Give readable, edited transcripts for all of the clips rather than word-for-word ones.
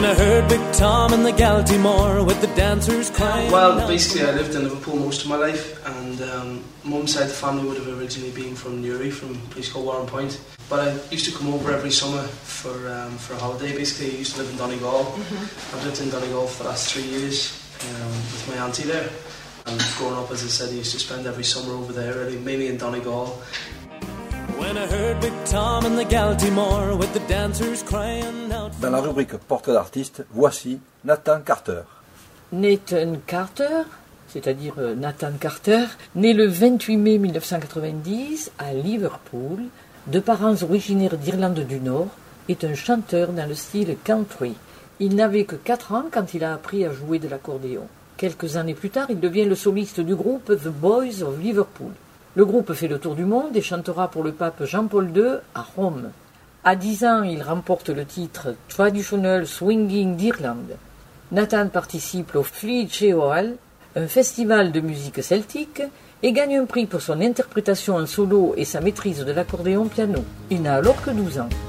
I heard Big Tom and the Galtymore with the dancers crying. Well, basically I lived in Liverpool most of my life, and mum's side of the family would have originally been from Newry, from a place called Warren Point. But I used to come over every summer for a holiday. Basically, I used to live in Donegal. I've lived in Donegal for the last 3 years with my auntie there. And growing up, as I said, I used to spend every summer over there, really, mainly in Donegal. When I heard Big Tom and the Galtymore with the dancers crying out. Dans la rubrique Portrait d'artiste, voici Nathan Carter. Nathan Carter, c'est-à-dire Nathan Carter, né le 28 mai 1990 à Liverpool, de parents originaires d'Irlande du Nord, est un chanteur dans le style country. Il n'avait que 4 ans quand il a appris à jouer de l'accordéon. Quelques années plus tard, il devient le soliste du groupe The Boys of Liverpool. Le groupe fait le tour du monde et chantera pour le pape Jean-Paul II à Rome. À 10 ans, il remporte le titre Traditional Swinging d'Irlande. Nathan participe au Fleet Cheoil, un festival de musique celtique, et gagne un prix pour son interprétation en solo et sa maîtrise de l'accordéon piano. Il n'a alors que 12 ans.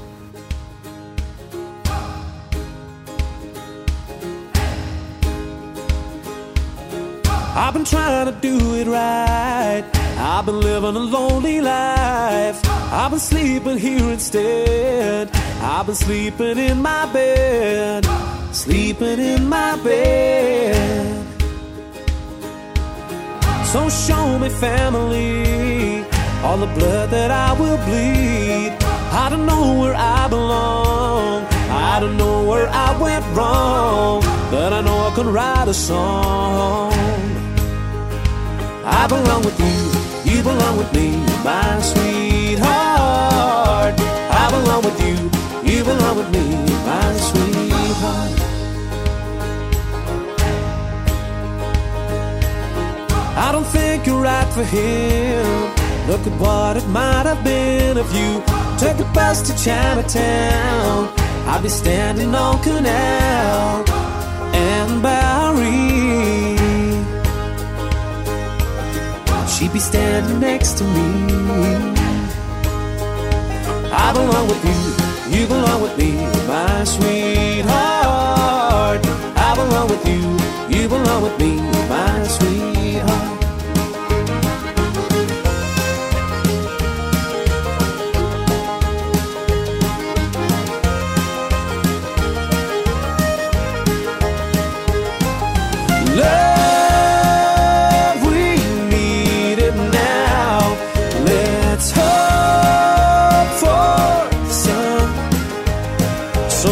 I've been trying to do it right. I've been living a lonely life. I've been sleeping here instead. I've been sleeping in my bed. Sleeping in my bed. So show me, family, all the blood that I will bleed. I don't know where I belong. I don't know where I went wrong, but I know I can write a song. I belong with you, you belong with me, my sweetheart. I belong with you, you belong with me, my sweetheart. I don't think you're right for him. Look at what it might have been if you took the bus to Chinatown. I'd be standing on Canal and Bowery. She'd be standing next to me. I belong with you, you belong with me, my sweetheart. I belong with you, you belong with me, my sweetheart. Love, we need it now. Let's hope for the sun. So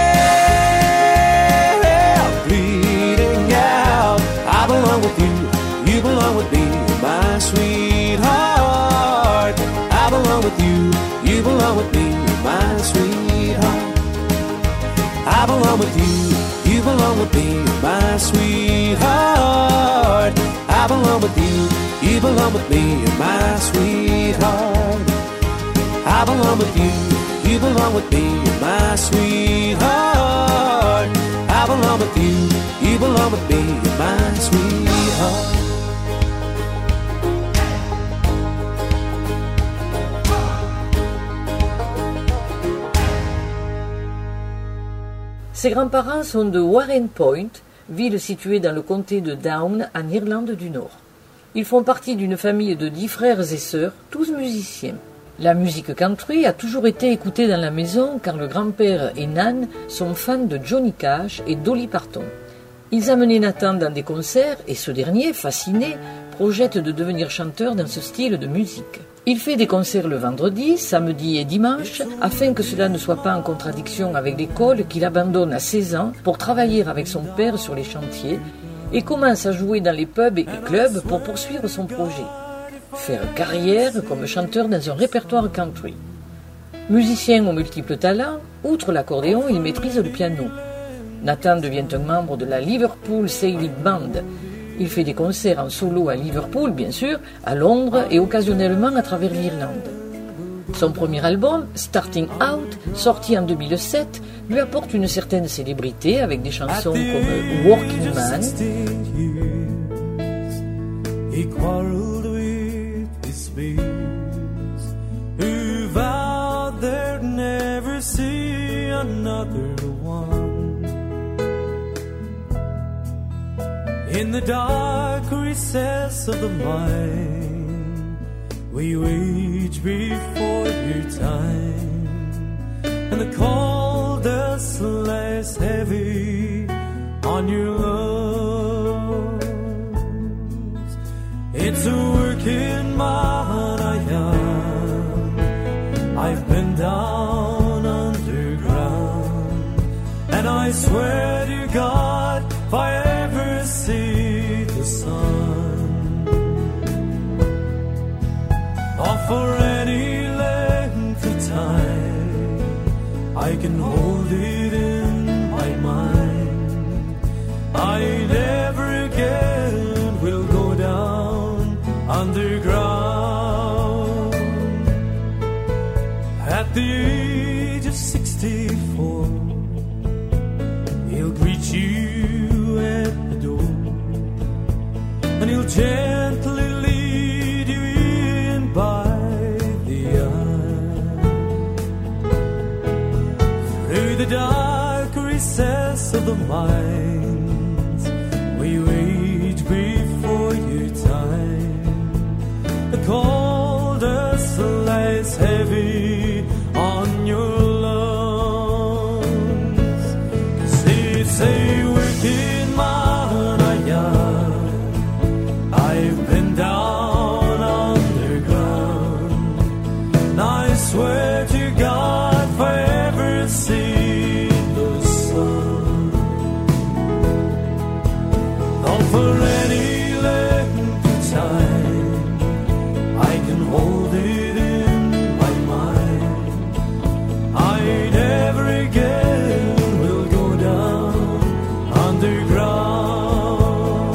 we're bleeding out. I belong with you, you belong with me, my sweetheart. I belong with you, you belong with me, my sweetheart. I belong with you, you belong with me, my sweetheart. I belong with you, you belong with me, my sweetheart. I belong with you, you belong with me, my sweetheart. I belong with you, you belong with me, my sweetheart. Ses grands-parents sont de Warren Point, ville située dans le comté de Down, en Irlande du Nord. Ils font partie d'une famille de 10 frères et sœurs, tous musiciens. La musique country a toujours été écoutée dans la maison car le grand-père et Nan sont fans de Johnny Cash et Dolly Parton. Ils amenaient Nathan dans des concerts et ce dernier, fasciné, projette de devenir chanteur dans ce style de musique. Il fait des concerts le vendredi, samedi et dimanche, afin que cela ne soit pas en contradiction avec l'école qu'il abandonne à 16 ans pour travailler avec son père sur les chantiers et commence à jouer dans les pubs et clubs pour poursuivre son projet. Faire carrière comme chanteur dans un répertoire country. Musicien aux multiples talents, outre l'accordéon, il maîtrise le piano. Nathan devient un membre de la Liverpool Sailing Band. Il fait des concerts en solo à Liverpool, bien sûr, à Londres et occasionnellement à travers l'Irlande. Son premier album, Starting Out, sorti en 2007, lui apporte une certaine célébrité avec des chansons comme Working Man, He quarreled with his fears, who vowed they'd never see another one. In the dark recess of the mind, we wage before your time, and the cold dust lies heavy on your lungs. It's a work in my heart I am. I've been down underground, and I swear to God, if I ever see the sun, or for any length of time, I can hold it in my mind. I never again will go down underground. At the age of 64, he'll greet you at the door, and he'll gently lead you in by the eye, through the dark recess of the minds we wage before your time. The cold dust lies heavy on your lungs, 'cause it's a work in my heart I am. I've been down underground, and I swear to God, if I ever see the sun, or for any length of time, I can hold it in my mind. I never again will go down underground.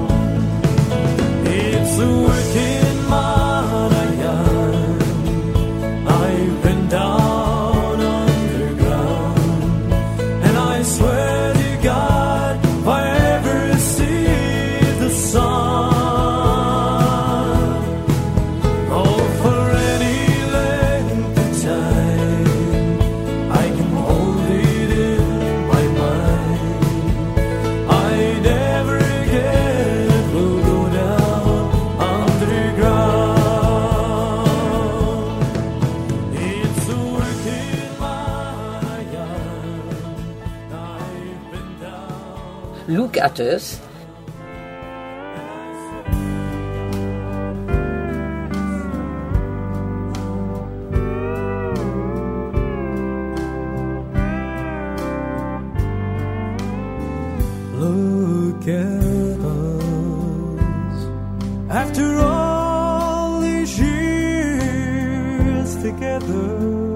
It's a work in my heart I am. I've been down underground, and I swear to God, if I ever see the sun, oh, for any length of time, I can hold it in my mind. I never again will go down underground. It's a work in my heart. I've been down. Look at Us, Look at us, after all these years together.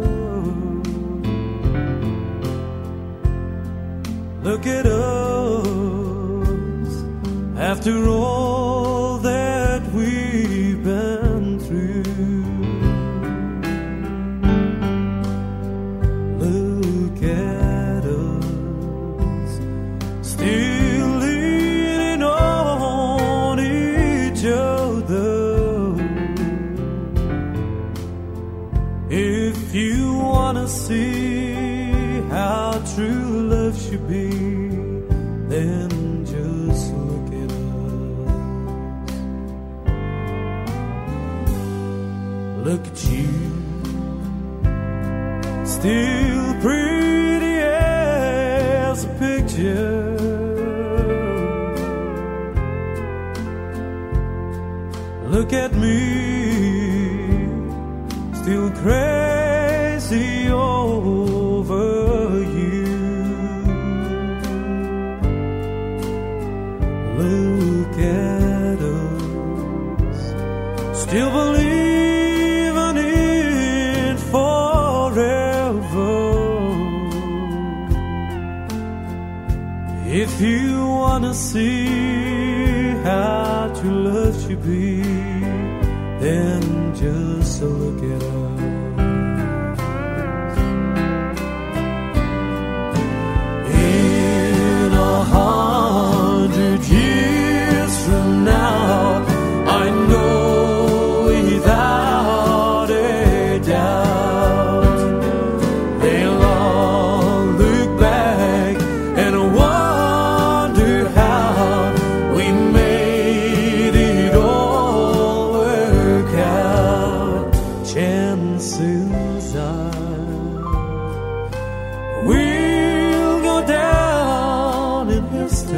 Look at us, after all that we've been through. Look at us, still leaning on each other. If you wanna see how true love should be, then just look at us. Look at you, still pretty as a picture. Look at me, still crazy over you. Look at us, still believing in forever. If you wanna see how true love should be, then just look at us. In 100 years from now, I know without a doubt, they'll all look back and wonder how we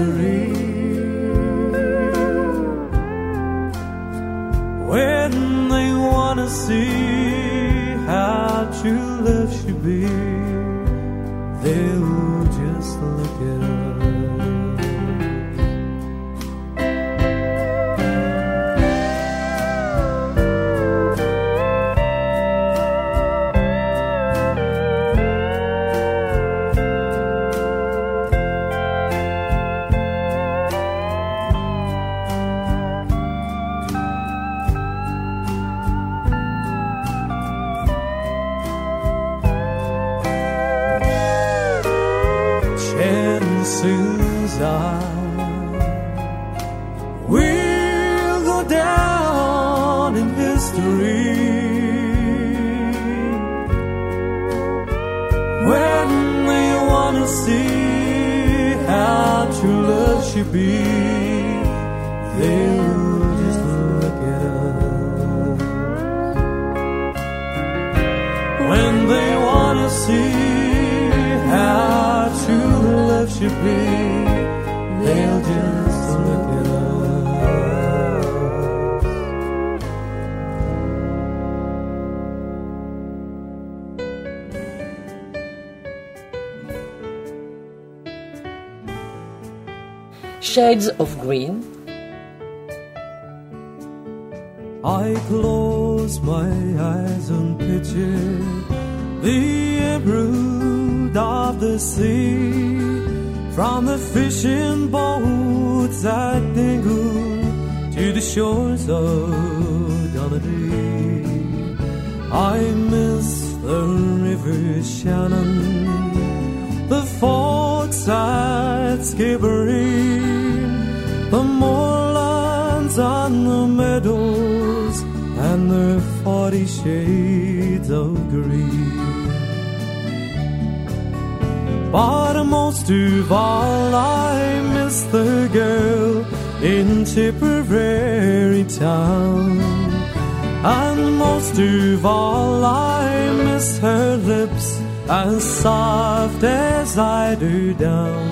history. When they wanna see how true love should be, they'll just look it up. Chances are we'll go down in history when they wanna see how true love should be. They'll just look at us when they wanna see how true love should be. They'll just look at us. Shades of Green. I close my eyes and picture the brood of the sea, from the fishing boats at Dingle to the shores of Donaghadee. I miss the river Shannon, the forts at Skibbereen, the moorlands and the meadows, and their 40 shades of green. But most of all, I miss the girl in Tipperary town, and most of all, I miss her lips as soft as eider down.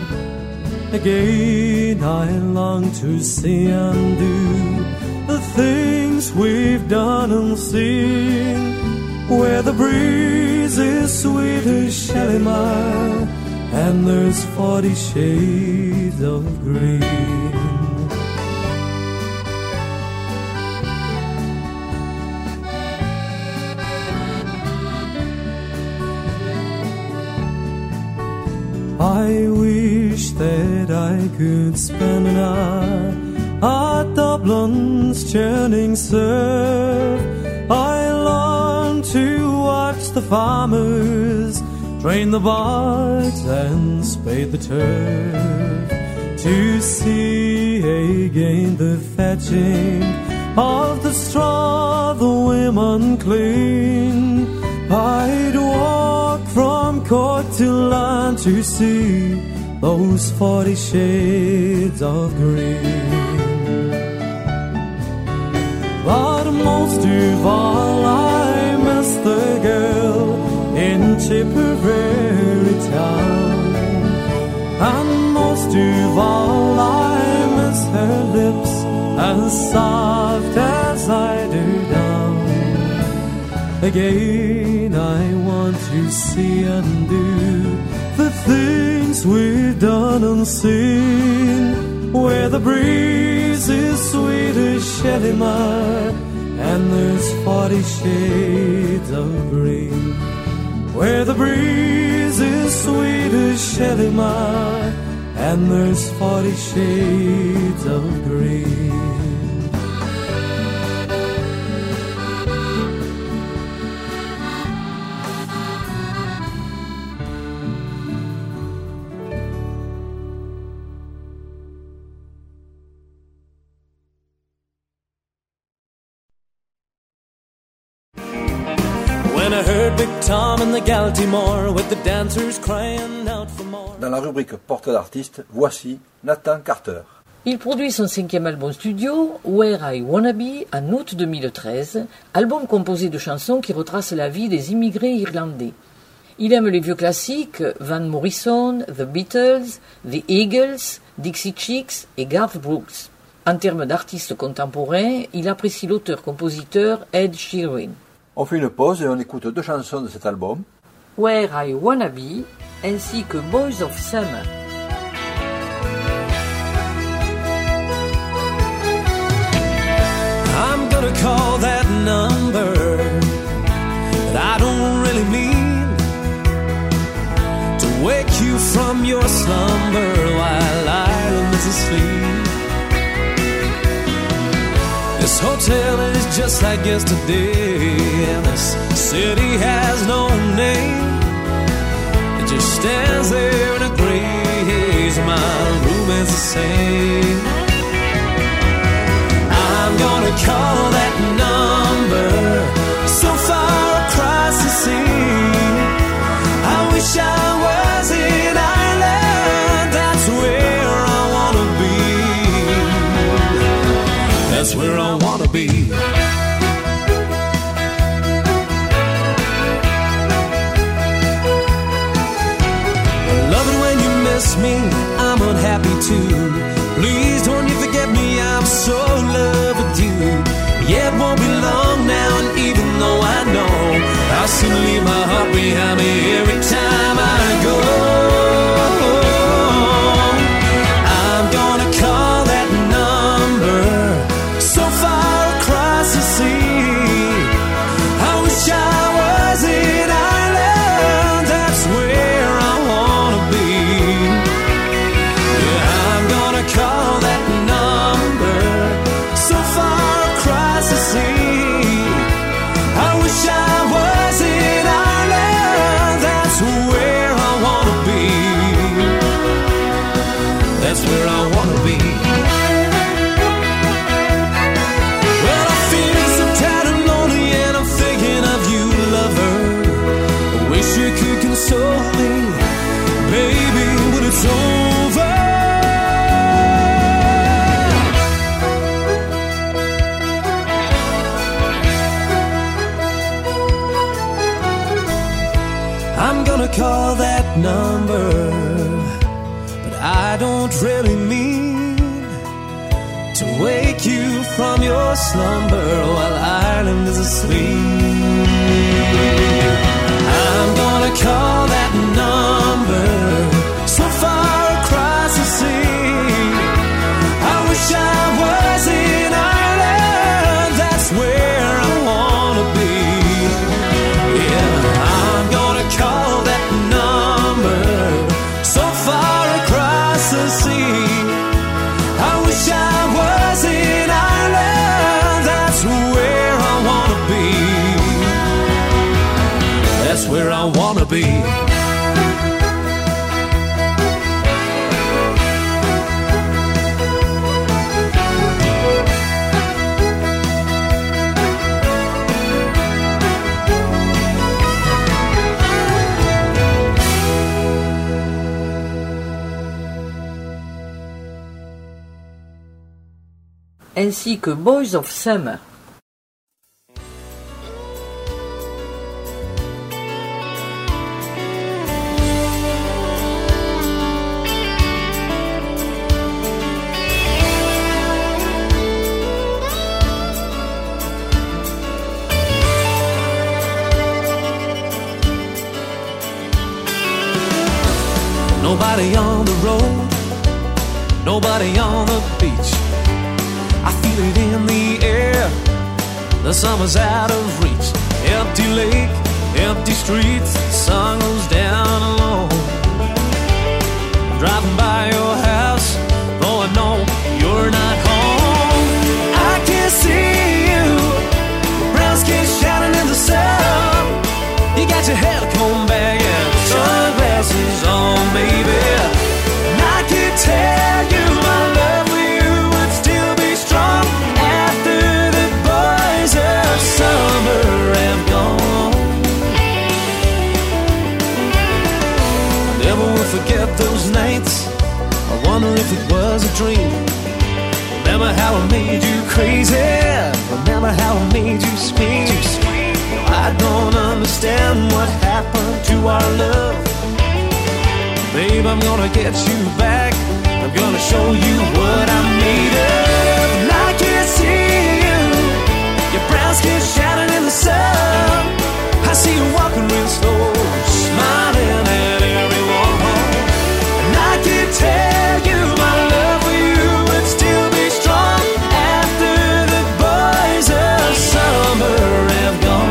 Again, I long to see and do the things we've done and seen, where the breeze is sweet as Shalimar, and there's 40 shades of green. I wish that I could spend an hour at Dublin's churning surf. I long to watch the farmers drain the bogs and spade the turf, to see again the fetching of the straw the women clean. I'd walk from Cork to land to see those 40 shades of green. But most of all, I miss the girl in Tipperary town, and most of all, I miss her lips as soft as eider down. Again, I want to see and do the things we've done and seen, where the breeze is sweet as Shalimar, and there's 40 shades of green. Where the breeze is sweet as Shalimar, and there's 40 shades of green. Dans la rubrique Portrait d'artiste, voici Nathan Carter. Il produit son 5e album studio, Where I Wanna Be, en août 2013, album composé de chansons qui retracent la vie des immigrés irlandais. Il aime les vieux classiques, Van Morrison, The Beatles, The Eagles, Dixie Chicks et Garth Brooks. En termes d'artistes contemporains, il apprécie l'auteur-compositeur Ed Sheeran. On fait une pause et on écoute 2 chansons de cet album. Where I Wanna Be ainsi que Boys of Summer. I'm gonna call that number, but I don't really mean to wake you from your slumber while Ireland is asleep. This hotel is just like yesterday, and this city has no name. It just stands there in a gray haze. My room is the same. I'm gonna call that number so far across the sea. I wish I was in Ireland. That's where I wanna be. That's where I wanna be. Love it when you miss me, I'm unhappy too. Please don't you forget me, I'm so in love with you. Yeah, it won't be long now, and even though I know I'll soon leave my heart behind me every time I go, I'm gonna call that number so far across the sea. I wish I was in Ireland. That's where I wanna be. Yeah, I'm gonna call that number so far across the sea. I wish I was in Ireland. That's where I wanna be. That's where I wanna be. Well, I feel so tired and lonely, and I'm thinking of you, lover. I wish you could console me, baby, when it's over. I'm gonna call that number, but I don't really mean to wake you from your slumber while Ireland is asleep. I'm gonna call that number so far across the sea. I wish I was in Ireland. That's where I wanna be. Yeah, I'm gonna call that number so far across the sea. I wish I was in Ireland. That's where I wanna be. That's where I wanna be. Ainsi que Boys of Summer. Nobody on the road, nobody on the beach. I feel it in the air, the summer's out of reach. Empty lake, empty streets, sun goes down alone. Driving by your house, though I know you're not home. I can see you, brown skin shining in the sun. You got your hair combed back and sunglasses on, baby. And I can tell you my love for you would still be strong after the boys of summer have gone. I never will forget those nights. I wonder if it was a dream. Remember how I made you crazy. Remember how I made you scream. I don't understand what happened to our love. Babe, I'm gonna get you back. I'm gonna show you what I'm made of. And I can't see you, your brown skin shining in the sun. I see you walking real slow, smiling at everyone. And I can tell you my love for you would still be strong after the boys of summer have gone.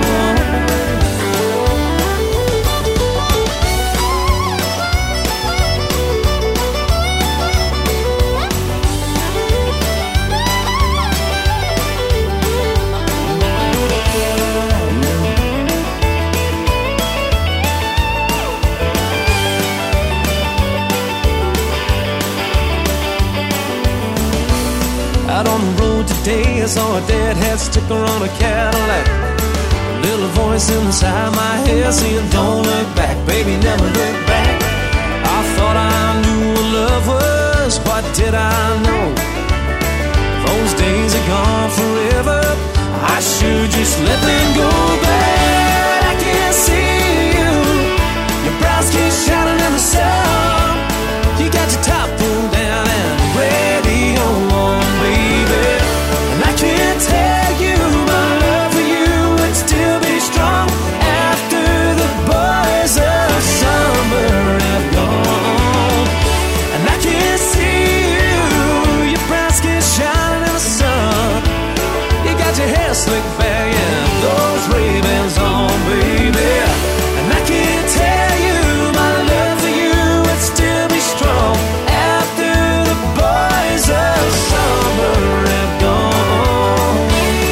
Out on the road today, I saw a deadhead sticker on a Cadillac. A little voice inside my head saying, don't look back, baby, never look back. I thought I knew what love was, what did I know? Those days are gone forever, I should just let them go. But I can't see you, your brown skin shining in the sun. You got your top pulled down and radio on, baby. And I can't tell you my love for you would still be strong after the boys of summer have gone. And I can't see you, your brown skin shining in the sun. You got your hair slicked back and those Ray-Bans on, baby. And I can't tell you my love for you would still be strong after the boys of summer have gone.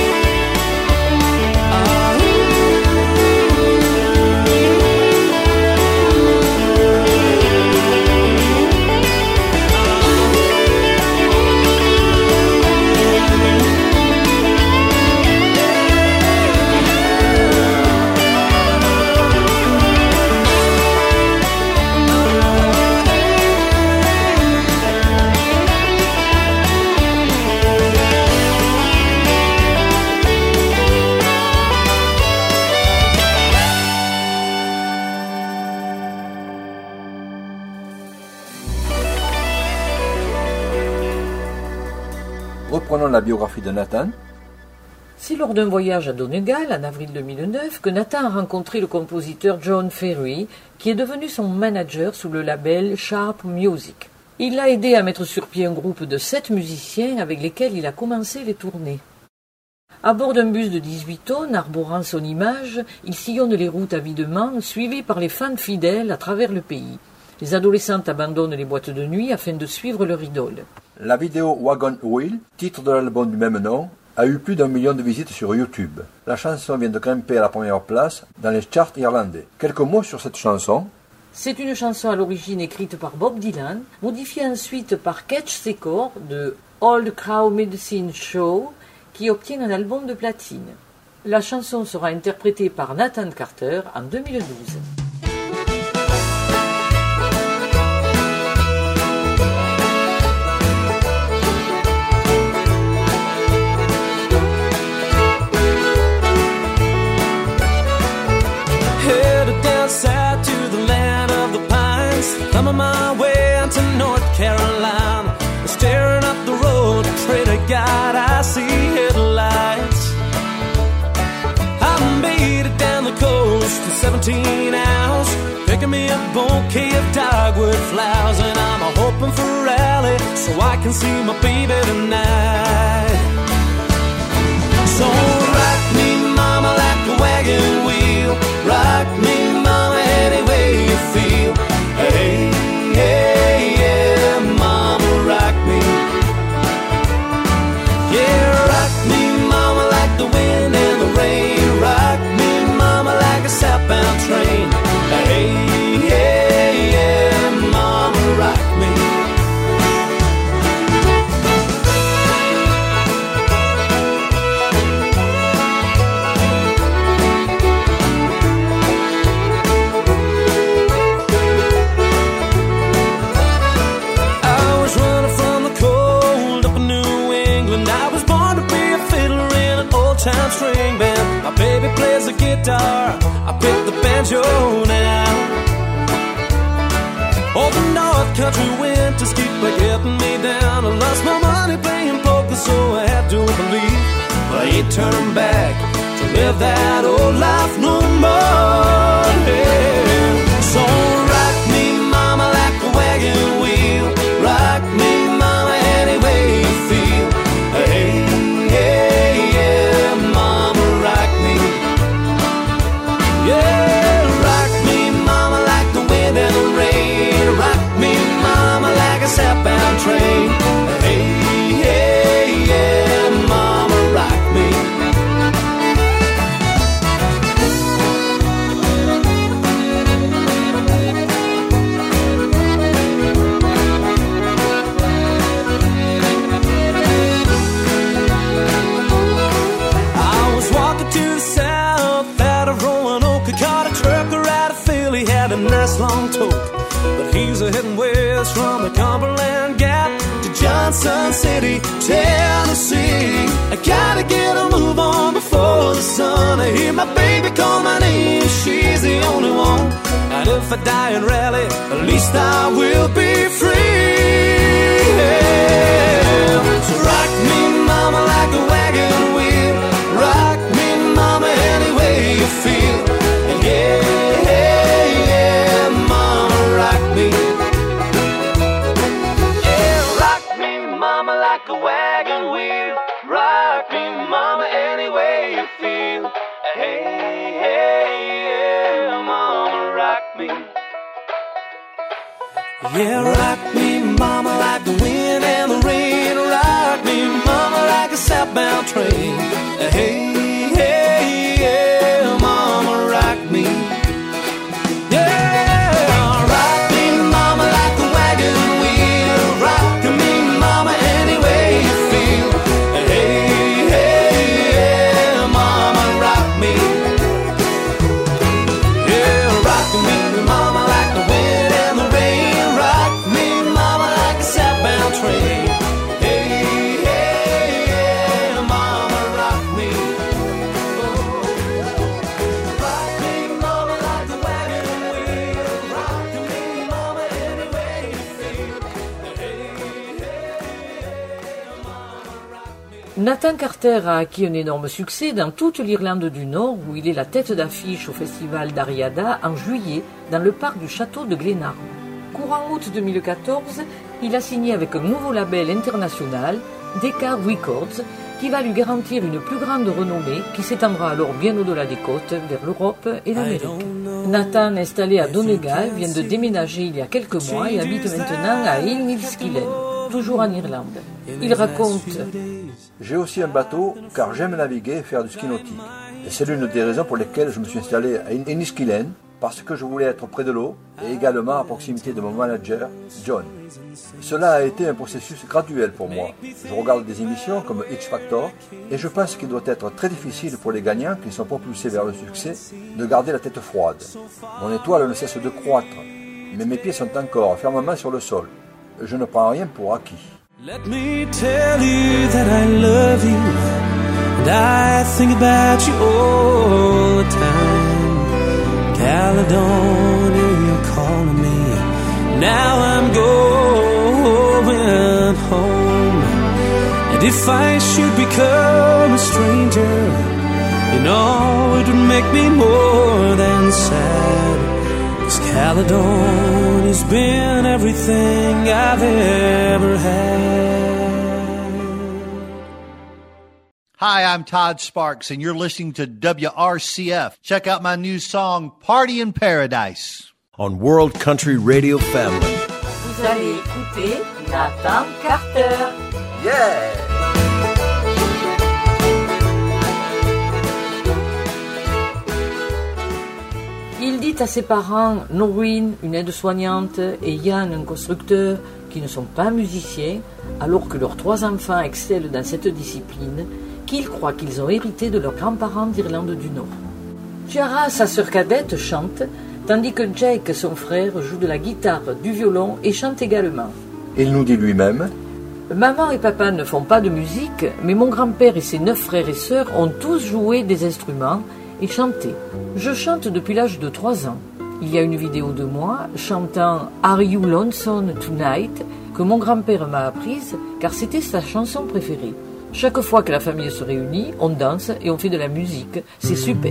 Reprenons la biographie de Nathan. C'est lors d'un voyage à Donegal, en avril 2009, que Nathan a rencontré le compositeur John Ferry, qui est devenu son manager sous le label Sharp Music. Il l'a aidé à mettre sur pied un groupe de 7 musiciens avec lesquels il a commencé les tournées. À bord d'un bus de 18 tonnes, arborant son image, il sillonne les routes avidement, suivi par les fans fidèles à travers le pays. Les adolescentes abandonnent les boîtes de nuit afin de suivre leur idole. La vidéo Wagon Wheel, titre de l'album du même nom, a eu plus d'1 million de visites sur YouTube. La chanson vient de grimper à la première place dans les charts irlandais. Quelques mots sur cette chanson. C'est une chanson à l'origine écrite par Bob Dylan, modifiée ensuite par Ketch Secor de Old Crow Medicine Show, qui obtient un album de platine. La chanson sera interprétée par Nathan Carter en 2012. South to the land of the pines, thumbing my way into North Carolina, staring up the road, pray to God I see headlights. I made it down the coast in 17 hours, picking me a bouquet of dogwood flowers, and I'm hoping for rally so I can see my baby tonight. So rock me, mama, like a wagon wheel. Rock me, mama, any way you feel. Hey, hey, yeah, mama, rock me. Yeah, rock me, mama, like the wind and the rain. Rock me, mama, like a southbound train. Hey, hey, yeah, mama, rock me. Time string band, my baby plays the guitar, I pick the banjo now. Oh, the North country winters keep getting me down. I lost my money playing poker, so I had to believe I ain't turning back to live that old life no more. Yeah. So rock me, mama, like a wagon wheel. Rock me, mama, any way you feel. Hey, hey, yeah, mama, rock me. Yeah, rock me, mama, like the wind and the rain. Rock me, mama, like a southbound train. Hey, hey, yeah, mama, rock me. I was walking to the south out of Roanoke. I caught a trucker out of Philly, had a nice long toke. But he's a heading west from the Cumberland Gap to Johnson City, Tennessee. I gotta get a move on before the sun. I hear my baby call my name, she's the only one. And if I die in Raleigh, at least I will be free. Yeah. So rock me, mama, like a wagon wheel. Rock me, mama, any way you feel. And yeah, yeah, mama, rock me. Yeah, rock me, mama, like a wagon wheel. Rock me, mama, any way you feel. Hey, hey, yeah, mama, rock me. Yeah, rock me, mama, like the wind and the rain. Rock me, mama, like a southbound train. Hey, hey, yeah, mama, rock me. Yeah, rock me, mama, like a wagon wheel. Rock me, mama, any way you feel. Hey, hey, yeah, mama, rock me. Yeah, rock me, mama, like the wind and the rain. Rock me, mama, like a southbound train. Hey, hey, yeah, mama, rock me. Oh. Rock me, mama, like the wagon wheel. Rock me, mama, any way you feel. Hey, hey, yeah, mama, rock me. Nathan Carter a acquis un énorme succès dans toute l'Irlande du Nord, où il est la tête d'affiche au festival d'Ariada en juillet dans le parc du château de Glenarm. Courant août 2014, il a signé avec un nouveau label international, Decca Records, qui va lui garantir une plus grande renommée qui s'étendra alors bien au-delà des côtes, vers l'Europe et l'Amérique. Nathan, installé à Donegal, vient de déménager il y a quelques mois et habite maintenant à Inniskillen, toujours en Irlande. Il raconte: J'ai aussi un bateau car j'aime naviguer et faire du ski nautique. Et c'est l'une des raisons pour lesquelles je me suis installé à Inniskillen, parce que je voulais être près de l'eau et également à proximité de mon manager, John. Cela a été un processus graduel pour moi. Je regarde des émissions comme X Factor et je pense qu'il doit être très difficile pour les gagnants qui sont propulsés vers le succès de garder la tête froide. Mon étoile ne cesse de croître, mais mes pieds sont encore fermement sur le sol. Je ne prends rien pour acquis. Let me tell you that I love you, and I think about you all the time. Caledonia, you're calling me. Now I'm going home. And if I should become a stranger, you know it would make me more than sad. 'Cause Caledonia's been everything I've ever had. Hi, I'm Todd Sparks, and you're listening to WRCF. Check out my new song, Party in Paradise. On World Country Radio Family. Vous allez écouter Nathan Carter. Yeah! Il dit à ses parents, Noreen, une aide-soignante, et Ian, un constructeur, qui ne sont pas musiciens, alors que leurs 3 enfants excellent dans cette discipline, qu'ils croient qu'ils ont hérité de leurs grands-parents d'Irlande du Nord. Ciara, sa sœur cadette, chante, tandis que Jake, son frère, joue de la guitare, du violon et chante également. Il nous dit lui-même: Maman et papa ne font pas de musique, mais mon grand-père et ses 9 frères et sœurs ont tous joué des instruments et chanté. Je chante depuis l'âge de 3 ans. Il y a une vidéo de moi chantant Are You Lonesome Tonight que mon grand-père m'a apprise car c'était sa chanson préférée. Chaque fois que la famille se réunit, on danse et on fait de la musique. C'est super.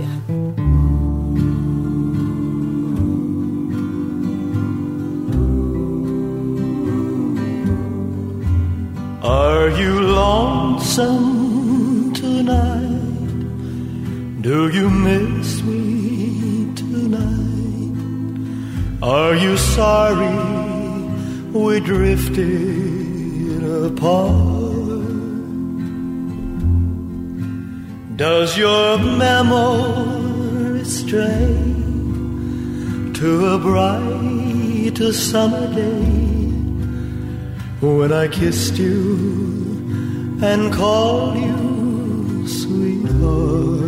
Are you lonesome tonight? Do you miss me tonight? Are you sorry we drifted apart? Does your memory stray to a bright summer day when I kissed you and called you sweetheart?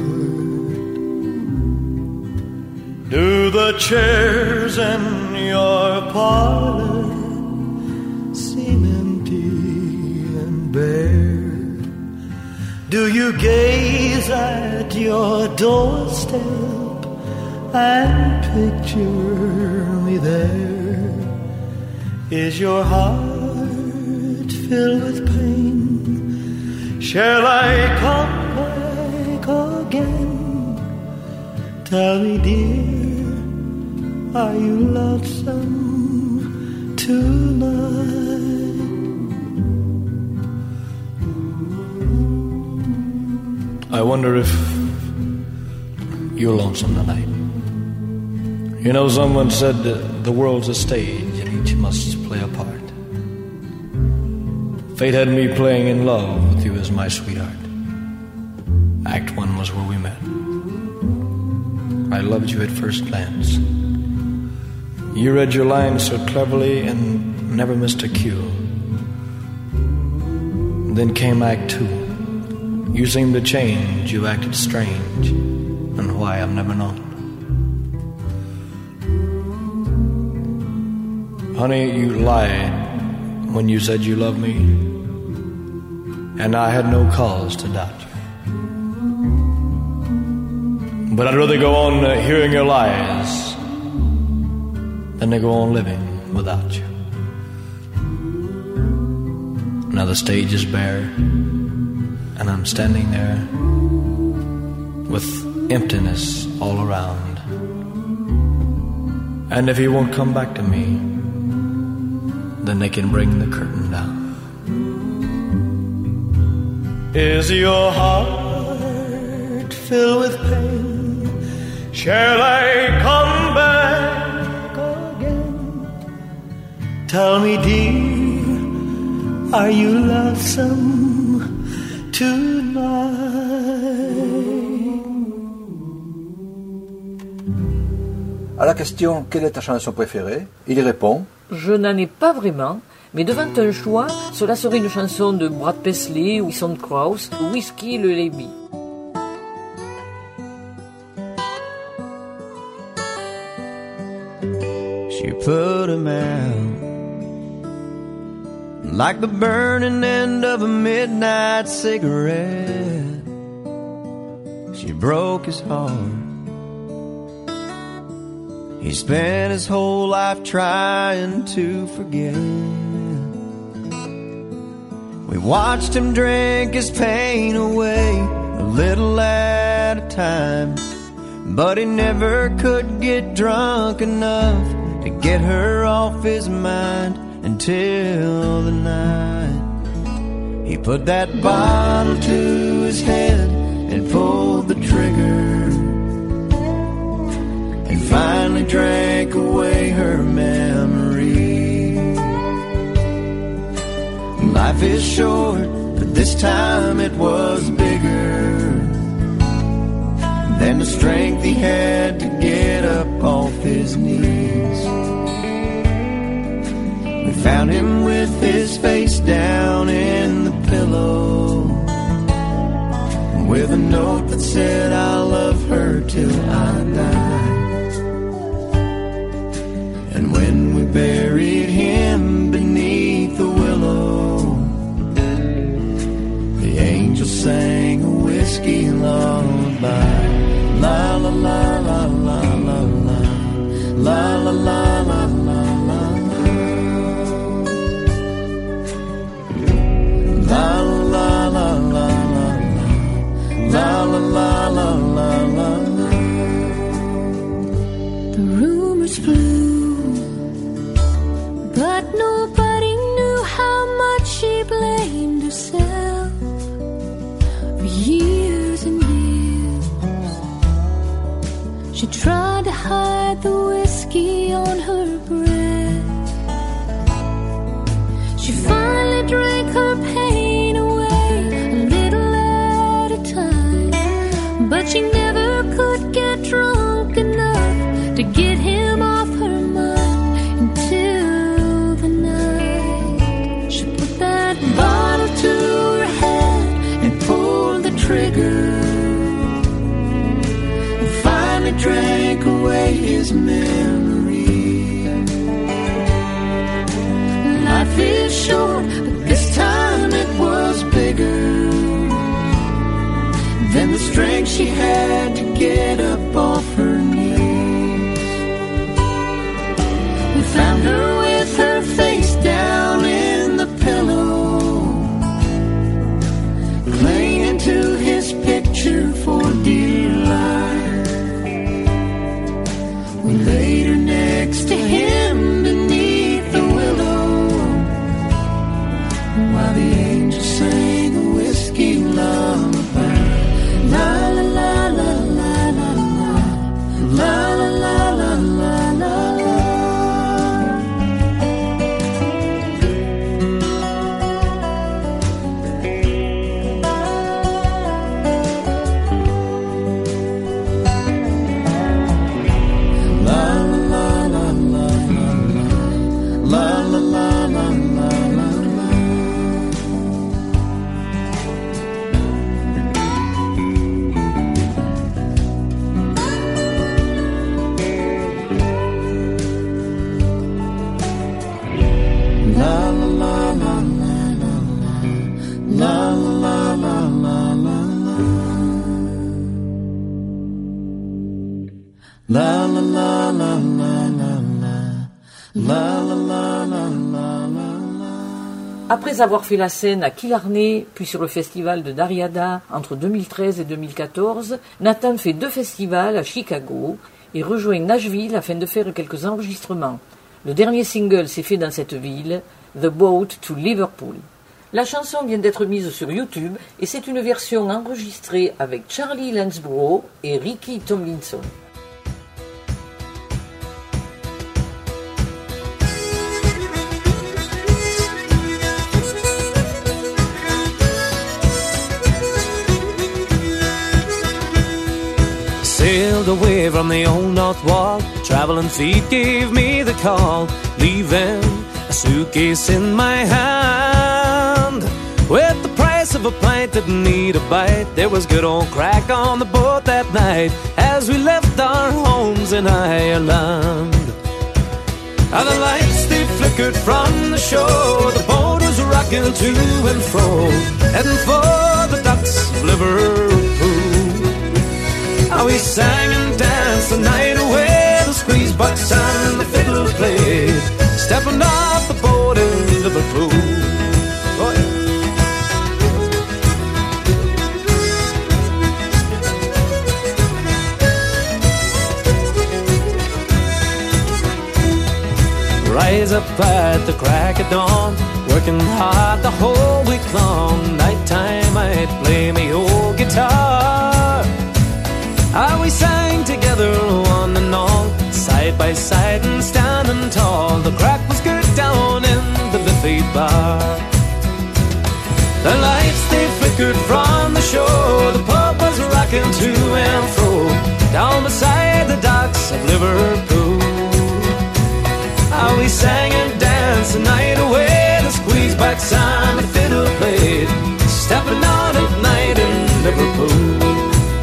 Do the chairs in your parlor seem empty and bare? Do you gaze at your doorstep and picture me there? Is your heart filled with pain? Shall I come back again? Tell me, dear, are you lonesome tonight? I wonder if you're lonesome tonight. You know, someone said the world's a stage and each must play a part. Fate had me playing in love with you as my sweetheart. Act 1 was where we met. I loved you at first glance. You read your lines so cleverly and never missed a cue. Then came Act 2. You seemed to change, you acted strange, and why I've never known. Honey, you lied when you said you loved me, and I had no cause to doubt you. But I'd rather go on hearing your lies than to go on living without you. Now the stage is bare, and I'm standing there with emptiness all around. And if you won't come back to me, then they can bring the curtain down. Is your heart filled with pain? Shall I come back again? Tell me, dear, are you lonesome tonight? À la question « Quelle est ta chanson préférée ?», il répond « Je n'en ai pas vraiment, mais devant un choix, cela serait une chanson de Brad Paisley ou Son Krauss ou Whiskey Lullaby. She put him out like the burning end of a midnight cigarette. She broke his heart. He spent his whole life trying to forget. We watched him drink his pain away a little at a time, but he never could get drunk enough to get her off his mind until the night he put that bottle to his head and pulled the trigger and finally drank away her memory. Life is short, but this time it was bigger than the strength he had to get up off his knees. We found him with his face down in the pillow, with a note that said, I'll love her till I die. And when we buried him beneath the willow, the angel sang a whiskey lullaby. La la la la la la la, la blamed herself for years and years. She tried to hide the whiskey on her breath. She finally drank her pain away a little at a time, but she never could get drunk enough to get him off her mind until the night she put that bottle to her head and pulled the trigger and finally drank away his memory. Life is short, but this time it was bigger than the strength she had to get up off her knees. We found her with her face down in the pillow, clinging to his picture for dear life. We laid her next to him beneath the willow, while the angels sang a whiskey lullaby. La la la la la la la la la la la la la. Après avoir fait la scène à Killarney, puis sur le festival de Dariada entre 2013 et 2014, Nathan fait 2 festivals à Chicago et rejoint Nashville afin de faire quelques enregistrements. Le dernier single s'est fait dans cette ville, The Boat to Liverpool. La chanson vient d'être mise sur YouTube et c'est une version enregistrée avec Charlie Lansborough et Ricky Tomlinson. Sailed away from the old north wall, traveling feet gave me the call, leaving a suitcase in my hand. With the price of a pint, didn't need a bite. There was good old crack on the boat that night as we left our homes in Ireland. And the lights, they flickered from the shore, the boat was rocking to and fro, heading for the docks of Liverpool. How we sang and danced the night away, the squeeze box and the fiddle played, stepping off the boat in Liverpool. Oh, yeah. Rise up at the crack of dawn, working hard the whole week long. Nighttime I'd play me old guitar. How we sang together on and on, side by side and standing tall. The crack was good down in the Liffey bar. The lights, they flickered from the shore, the pub was rocking to and fro, down beside the docks of Liverpool. How we sang and danced the night away, the squeeze backs and the fiddle played, stepping out at night in Liverpool.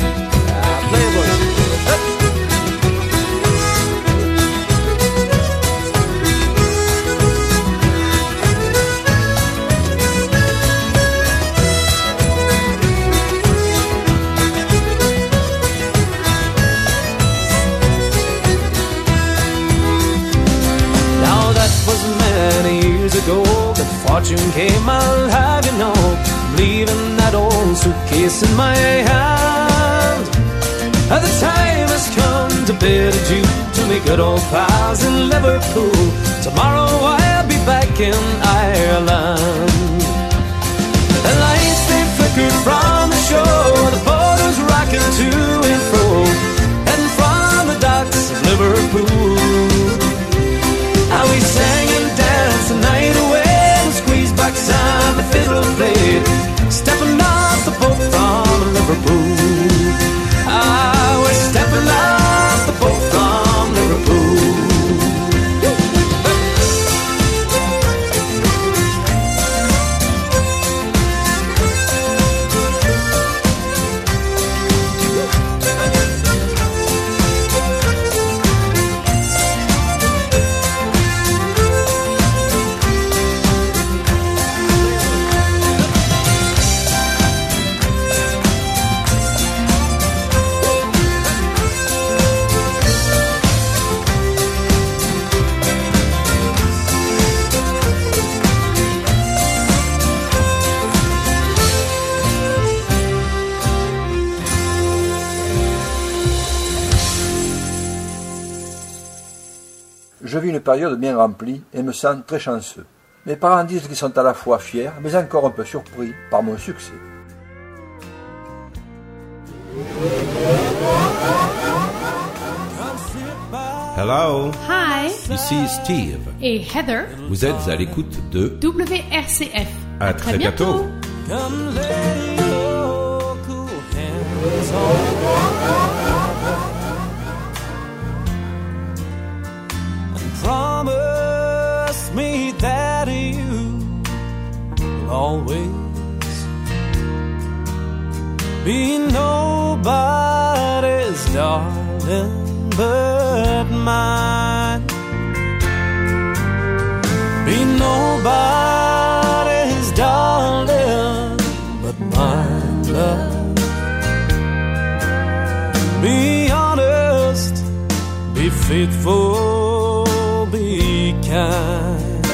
Ago, good fortune came, I'll have you know, leaving that old suitcase in my hand. The time has come to bid adieu to me good old pals in Liverpool. Tomorrow I'll be back in Ireland. une période bien remplie et me sens très chanceux. Mes parents disent qu'ils sont à la fois fiers, mais encore un peu surpris par mon succès. Hello. Hi. Ici Steve. Et Heather. Vous êtes à l'écoute de WRCF. À très bientôt. Come lay your cool hands on and promise me that you will always be nobody's darling but mine. Be nobody's darling but mine, love. Be honest, be faithful, be kind,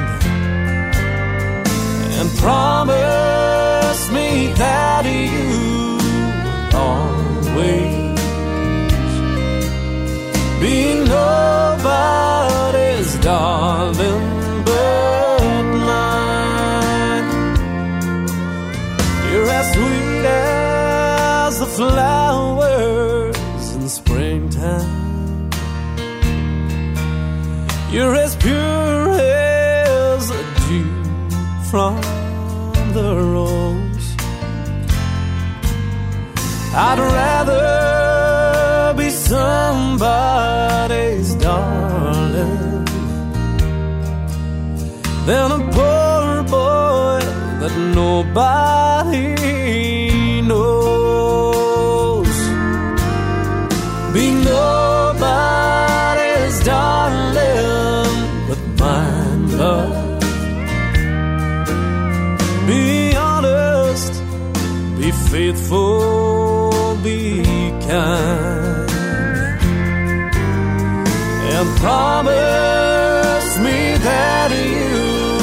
and promise me that you always be nobody's darling but mine. You're as sweet as the flowers in springtime. You're as pure as the dew from the rose. I'd rather be somebody's darling than a poor boy that nobody knows. Be nobody's darling but mine, love. Be honest, be faithful, be kind, and promise me that you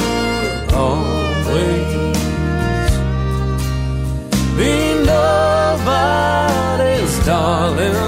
always be nobody's darling